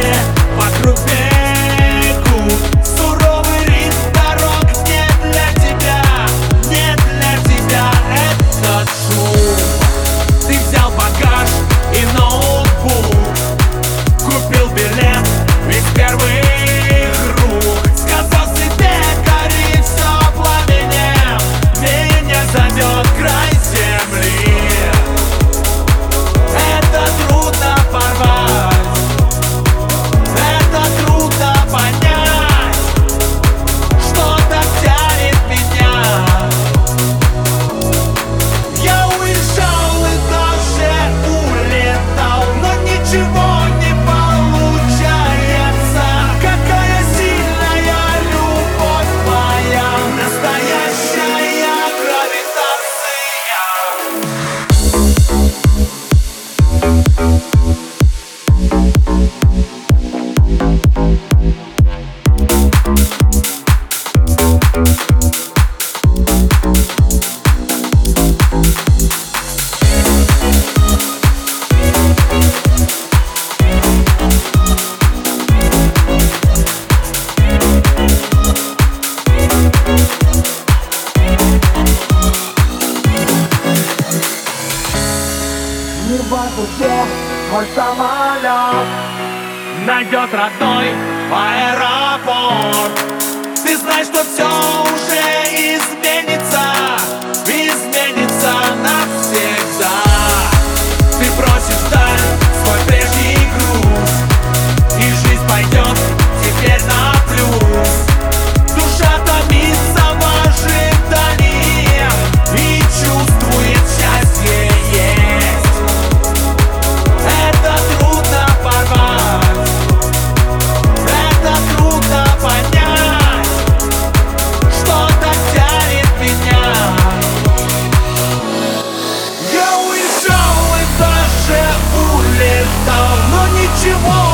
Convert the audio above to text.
все вокруг бегут. Суровый ритм дорог не для тебя, не для тебя этот шум. Ты взял багаж и ноутбук, купил билет из первых рук. Сказал себе, гори все пламенем, меня зовет край земли. Это трудно порвать, это трудно понять, что так тянет меня. Я уезжал и даже улетал, но ничего не получается. Какая сильная любовь моя, настоящая гравитация. Не в воздухе мой самолет Найдет родной аэропорт. Ты знаешь, что все уже изменится, изменится навсегда. Ты бросишь вдаль свой прежний груз, и жизнь пойдет теперь на плюс. Душа томится в ожидании и чувствует счастье есть. Это трудно порвать, это трудно понять, что так тянет меня. Я уезжал и даже улетал, но ничего